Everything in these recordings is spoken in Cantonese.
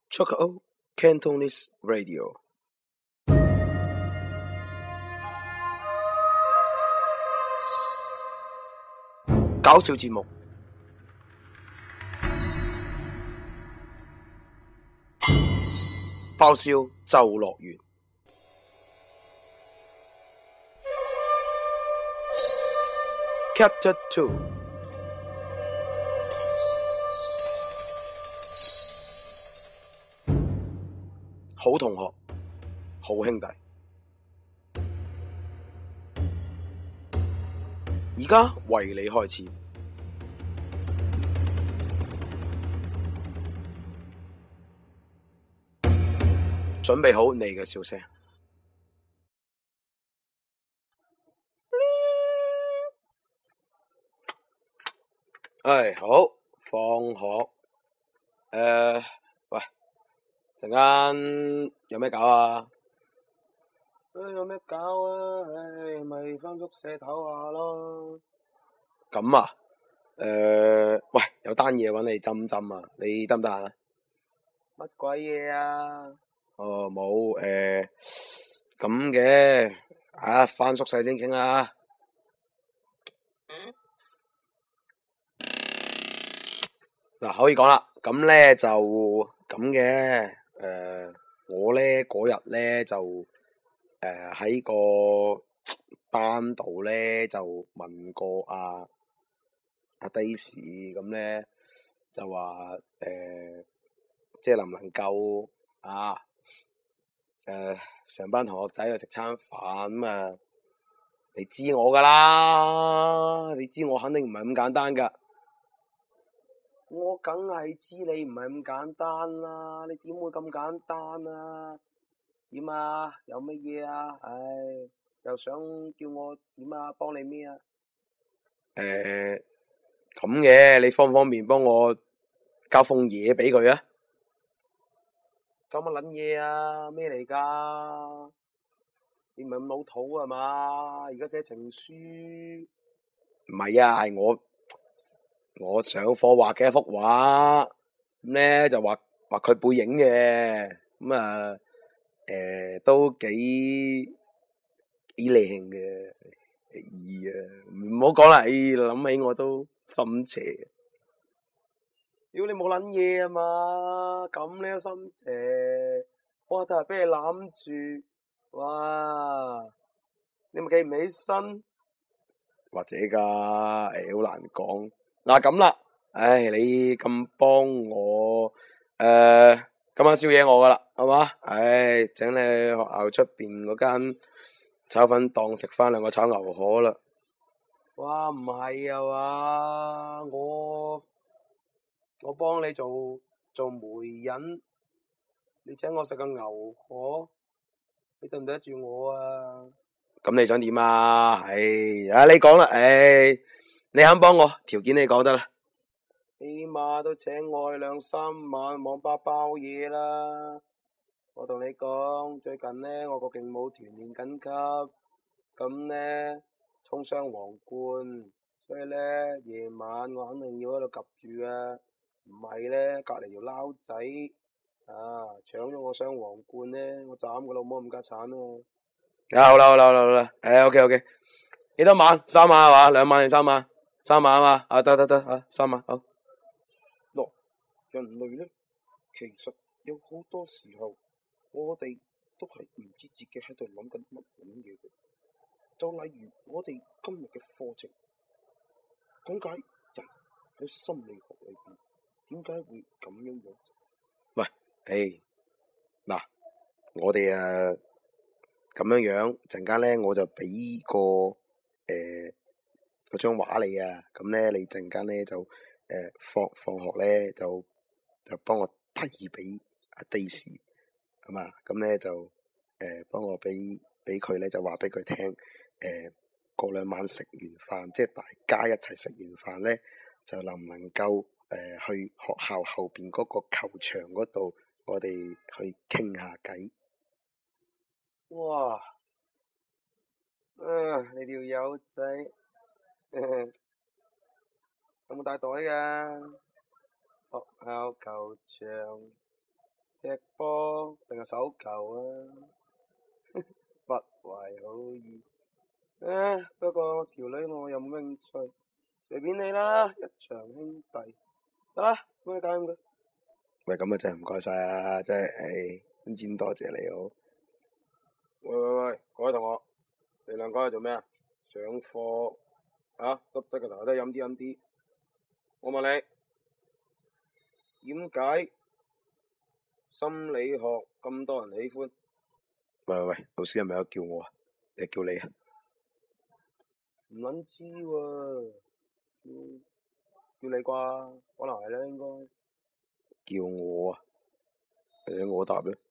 Choco Cantonese Radio 搞笑節目，爆笑就樂園。Chapter 2，好同學，好兄弟。而家為你開始，準備好你嘅笑聲。好，放學。喂，陣間有咩搞啊？有咩搞啊？咪返宿舍唞下咯。咁啊？喂，有單嘢搵你斟斟啊，你得唔得啊？乜鬼嘢啊？冇咁嘅，返宿舍先傾啦。嗱，可以講啦。咁咧就咁嘅，我咧嗰日咧就喺個班度咧就問過阿 Daisy，咁咧就話即係能唔能夠成班同學仔去食餐飯咁啊？你知我噶啦，你知我肯定唔係咁簡單噶。我梗係知你唔係咁簡單啦，你點會咁簡單啊？點啊？有乜嘢啊？又想叫我點啊？幫你咩啊？咁嘅，你方唔方便幫我交封嘢俾佢啊？交乜撚嘢啊？咩嚟噶？你唔係咁老土啊嘛？而家寫情書？唔係啊，係我上課畫嘅一幅畫，咁咧就畫佢背影嘅，咁啊都幾靚嘅。唔好講啦，諗起我都心邪。屌你冇撚嘢啊嘛，咁你都心邪，哇！但係俾你攬住，哇！你咪企唔起身，或者噶，好難講。嗱咁啦，你咁幫我，今晚宵夜我噶啦，係嘛？請你去學校出邊嗰間炒粉檔食翻2個炒牛河啦。哇，唔係啊嘛，我幫你做媒人，你請我食個牛河，你對唔對得住我啊？咁你想點啊？你講啦，你肯幫我，條件你講得啦。起碼都請我去2-3晚網吧包嘢啦。我同你講，最近呢，我個勁舞團練緊級，咁呢，衝雙皇冠，所以呢，夜晚我肯定要喺度及住啊。唔係呢，隔離條撈仔搶咗我雙皇冠呢，我斬個老母咁家產啊！好啦，OK，幾多晚？3晚係嘛？2晚定3晚？3晚啊嘛，得3晚好。人類呢，其實有好多時候，我哋都係唔知自己喺度諗緊乜嘢嘅。就例如我哋今日嘅課程，講解人喺心理學裏邊點解會咁樣樣。喂，嗱，我哋咁樣樣，陣間咧我就俾個嗰張畫你啊，咁咧你陣間咧就放學咧就幫我遞俾阿 Daisy，係嘛？咁咧就幫我俾佢咧就話俾佢聽，過2晚食完飯，即係大家一齊食完飯咧，就能唔能夠去學校後邊嗰個球場嗰度，我哋去傾下偈。哇！你條友仔有冇帶袋㗎？學校球場踢波定係手球啊？不懷好意。不過條女我又冇興趣，隨便你啦，一場兄弟。得啦，幫你搞掂佢。喂，咁啊真係唔該晒啊，真係，咁多謝你好。喂，各位同學，你兩個喺度做咩啊？上課啊？耷低個頭都飲啲。我問你，點解心理學咁多人喜歡？喂，老師係咪有叫我啊？定係叫你啊？唔撚知喎，叫你啩？可能係啦，應該。叫我啊？我答咧。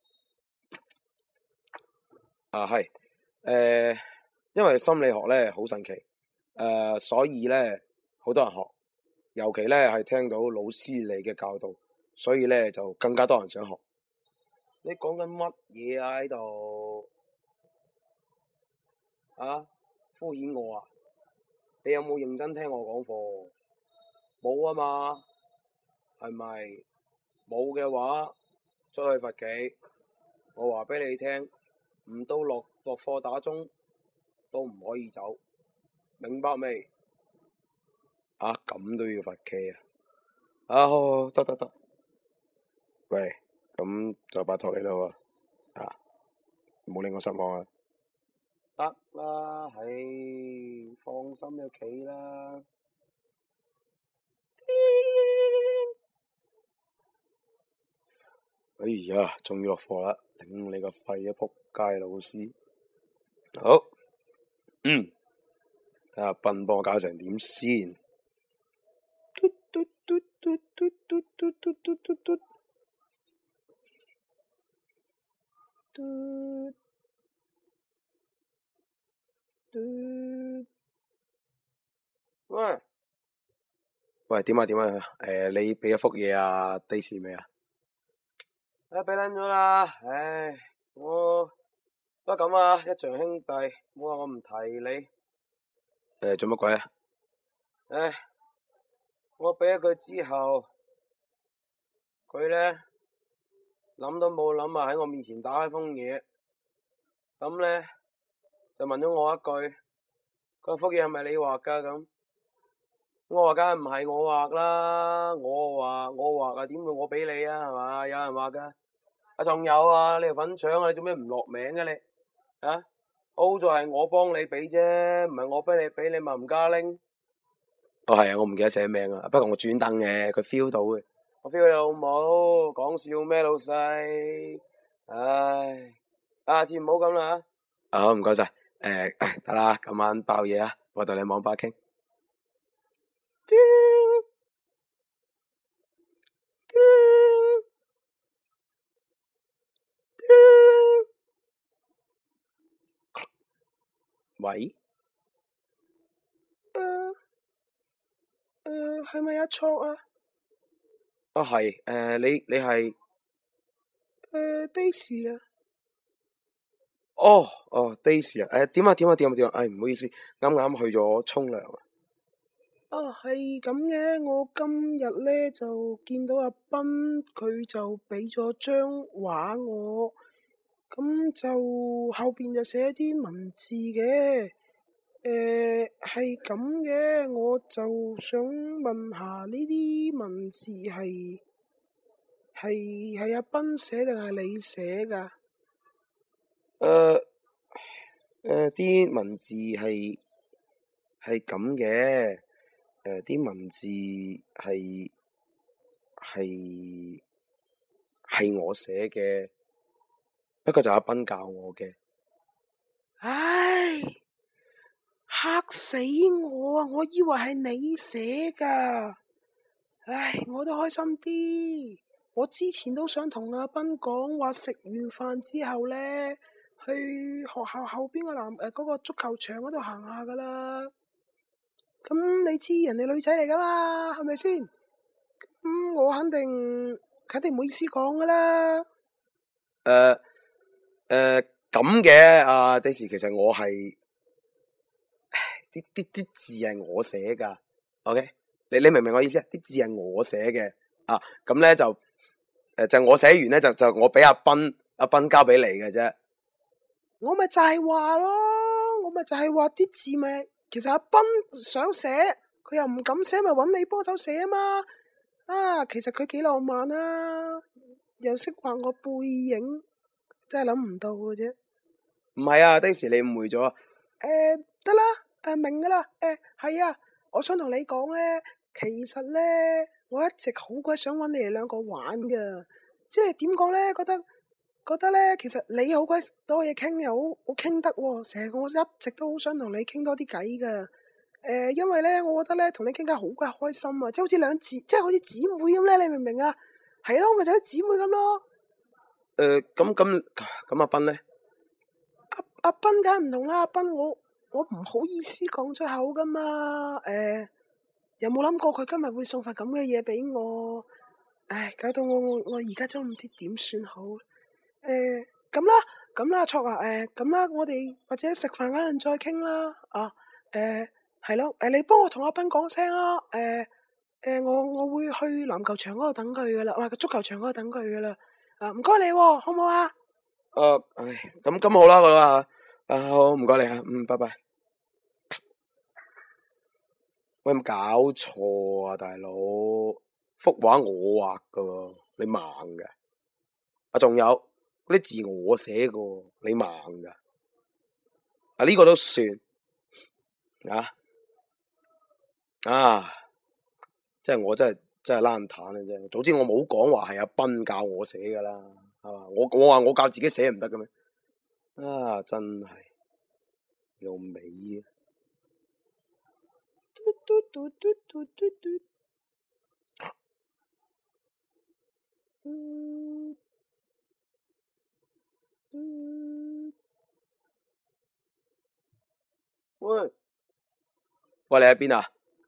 係，因為心理學咧好神奇，所以咧好多人學，尤其咧係聽到老師嚟嘅教導，所以咧就更加多人想學。你講緊乜嘢啊？喺度啊？敷衍我啊？你有冇認真聽我講課？冇啊嘛？係咪？冇嘅話，出去罰企。我話俾你聽，唔到落課打鐘都唔可以走，明白未？咁都要罰企啊？好，得。喂，咁就拜託你啦喎，唔好令我失望啊！得啦，放心就企啦。哎呀，終於落課啦！頂你個肺啊，仆街老師！好，睇下笨幫我搞成點先。喂，點啊？你俾一幅嘢啊，Daisy未啊？俾撚咗啦，我不過咁啊，一場兄弟，冇話我唔提你。做乜鬼啊？我俾咗佢之後，佢咧諗都冇諗啊，喺我面前打開封嘢，咁咧就問咗我一句：嗰幅嘢係咪你畫㗎？咁我話梗係唔係我畫啦，我畫啊，點會我俾你啊？係嘛？有人畫㗎。仲有啊，你條粉腸啊，你做咩唔落名嘅你？好在係我幫你俾啫，唔係我俾你俾，你咪唔加拎。係啊，我唔記得寫名啊，不過我專登嘅，佢 feel 到嘅。我 feel 你老母，講笑咩老細？唉，下次唔好咁啦。好，唔該晒。得啦，今晚爆嘢啊，我同你網吧傾。喂？係咪阿卓啊？係，你係Daisy 啊？Daisy 啊？點啊？唔好意思，啱啱去咗沖涼啊。係咁嘅，我今日咧就見到阿斌，佢就俾咗張畫我，咁就後邊就寫啲文字嘅。係咁嘅，我就想問下呢啲文字係阿斌寫定係你寫噶？啲文字係咁嘅，啲文字係我寫嘅，不過就阿斌教我嘅。唉！嚇死我啊！我以為係你寫噶，我都開心啲。我之前都想同阿斌講話，食完飯之後咧，去學校後邊嗰個足球場嗰度行下噶啦。咁你知人哋女仔嚟噶嘛，係咪先？我肯定唔好意思講噶啦。咁嘅，阿 Daisy，其實我係。啲字係我寫噶，OK？你明唔明我意思啊？啲字係我寫嘅，咁咧就就我寫完咧就我俾阿斌交俾你嘅啫。 我咪就係話咯，我咪就係話啲字咪，其實阿斌想寫，佢又唔敢寫，咪揾你幫手寫啊嘛。啊，其實佢幾浪漫啊，又識畫我背影，真係諗唔到嘅啫。 唔係啊，的士你誤會咗。 得啦，明噶啦。係啊，我想同你講咧，其實咧，我一直好鬼想揾你哋兩個玩噶，即係點講咧？覺得咧，其實你好鬼多嘢傾，又好傾得喎。成個我一直都好想同你傾多啲偈噶。因為咧，我覺得咧，同你傾偈好鬼開心啊，即係好似姊妹咁咧，你明唔明啊？係咯，咪就係姊妹咁咯。 咁阿斌咧？ 阿斌梗係唔同啦，阿斌我唔好意思講出口噶嘛。有冇諗過佢今日會送份咁嘅嘢俾我？唉，搞到我而家都唔知點算好。咁啦，卓啊，咁啦，我哋或者食飯嗰陣再傾啦。係咯，你幫我同阿斌講聲啊。我會去籃球場嗰度等佢噶啦，個足球場嗰度等佢噶啦。唔該你，好唔好啊？ 咁好啦，好啦，好，唔該你啊，拜拜。喂，有冇搞錯啊，大佬？幅畫我畫噶，你盲嘅？仲有嗰啲字我寫噶，你盲噶？呢個都算即係我真係爛彈嘅啫。早知我冇講話係阿斌教我寫噶啦，係嘛？我話我教自己寫唔得嘅咩？真係有尾啊！喂，你喺邊啊？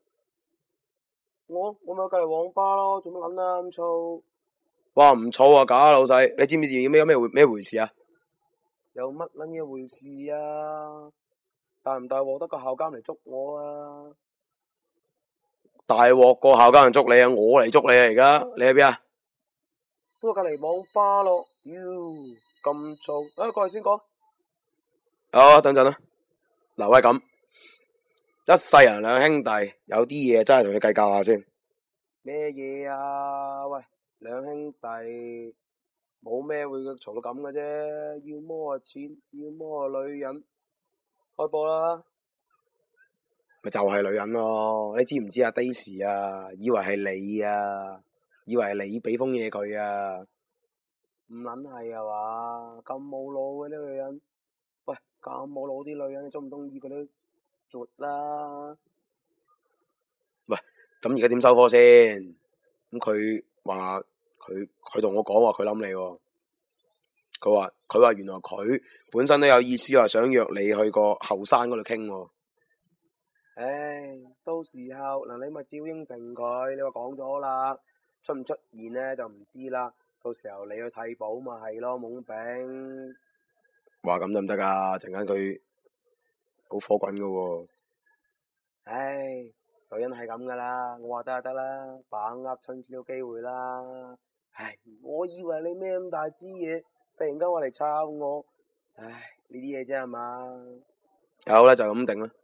我咪喺隔籬網吧咯，做乜撚啊咁嘈？哇，唔嘈啊，假老細！你知唔知有咩回事啊？有乜撚嘢回事啊？大唔大鑊得個校監嚟捉我啊？大鑊個校監嚟捉你啊！我嚟捉你啊！而家你喺邊啊？都喺隔籬網吧咯。屌，咁嘈！過嚟先講。好，等陣啦。嗱，喂，咁一世人兩兄弟，有啲嘢真係同佢計較下先。咩嘢啊？喂，兩兄弟冇咩會嘈到咁嘅啫，要麼錢，要麼女人。開波啦！咪就係女人咯，你知唔知啊？Daisy啊，以為係你啊，以為係你俾封嘢佢啊，唔撚係啊嘛？咁冇腦嘅呢個女人，喂，咁冇腦啲女人，你中唔中意佢都絕啦？喂，咁而家點收科先？咁佢話佢同我講話佢諗你喎，佢話原來佢本身都有意思話想約你去個後山嗰度傾喎。唉，到時候嗱你咪照應承佢，你話講咗啦，出唔出現呢就唔知啦。到時候你去替補咪係咯，懵丙。話咁得唔得啊？陣間佢好火滾噶喎。唉，女人係咁噶啦，我話得就得啦，把握趁少機會啦。唉，我以為你咩咁大支嘢，突然間話嚟抄我，唉，呢啲嘢啫係嘛？好啦，就咁定啦。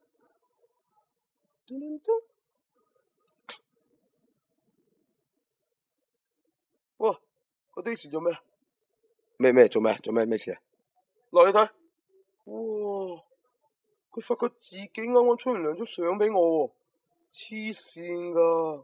哇！個 Daisy 做咩？做咩事啊？嗱，你睇，哇！佢發覺自己啱啱沖完涼張相俾我喎，黐線噶！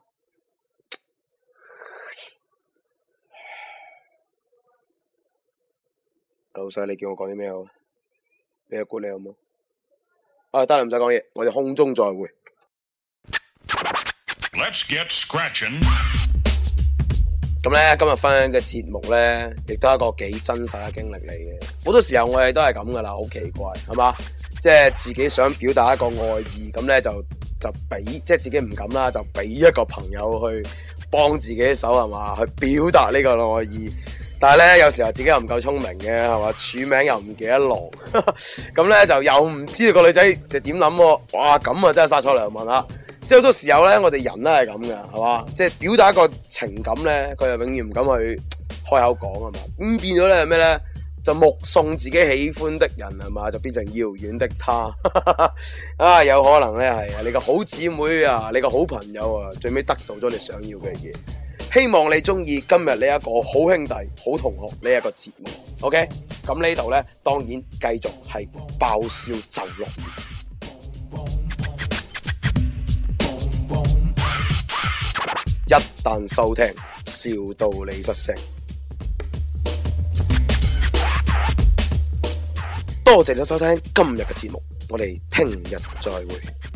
老細，你叫我講啲咩好？俾個 good 你好冇？得啦，唔使講嘢，我哋空中再會。Let's get scratching。咁咧，今日分享嘅節目咧，亦都係一個幾真實嘅經歷嚟嘅。好多時候我哋都係咁噶啦，好奇怪，係嘛？即係自己想表達一個愛意，咁咧就俾，即係自己唔敢啦，就俾一個朋友去幫自己手，係嘛？去表達呢個愛意。但係咧，有時候自己又唔夠聰明嘅，係嘛？署名又唔記得落，咁咧就又唔知道個女仔就點諗喎。哇，咁啊真係殺錯良民啦！即係好多時候咧，我哋人咧係咁嘅，係嘛？即係表達一個情感咧，佢又永遠唔敢去開口講啊嘛，咁變咗咧係咩咧？就目送自己喜歡的人係嘛，就變成遙遠的他啊！有可能咧係你個好姊妹啊，你個好朋友啊，最尾得到咗你想要嘅嘢。希望你中意今日呢一個好兄弟、好同學呢一個節目。OK， 咁呢度咧當然繼續係爆笑就樂園。一旦收聽，笑到你失聲。多謝你收聽今日嘅節目，我哋聽日再會。